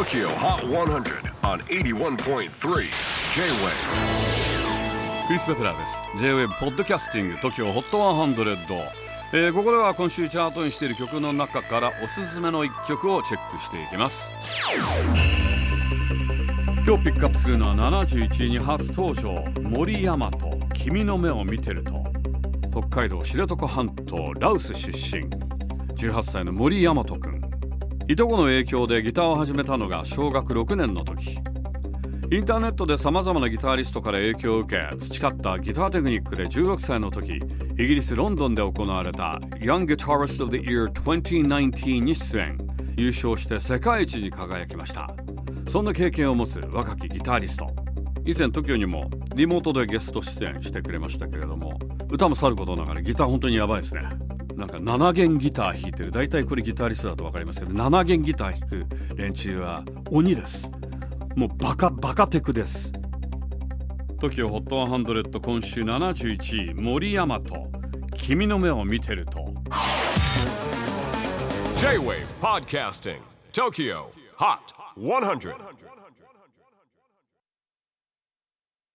Tokyo Hot 100 on 81.3 J-Wave。 クリス・ベプラーです。 J-Wave ポッドキャスティング Tokyo Hot 100、ここでは今週チャートにしている曲の中からおすすめの1曲をチェックしていきます。今日ピックアップするのは71位に初登場、森大和、君の目を見てると。北海道知床半島羅臼出身、18歳の森大和くん。いとこの影響でギターを始めたのが小学6年の時。インターネットでさまざまなギタリストから影響を受け培ったギターテクニックで16歳の時、イギリスロンドンで行われた Young Guitarist of the Year 2019に出演、優勝して世界一に輝きました。そんな経験を持つ若きギタリスト、以前 TOKIO にもリモートでゲスト出演してくれましたけれども、歌もさることながらギター本当にやばいですね。なんか7弦ギター弾いてる、大体これギタリストだと分かりますけど、7弦ギター弾く連中は鬼です。もうバカテクです。 TOKIO HOT 100、今週71位、森大和、君の目を見てると。 J-Wave Podcasting Tokyo Hot 100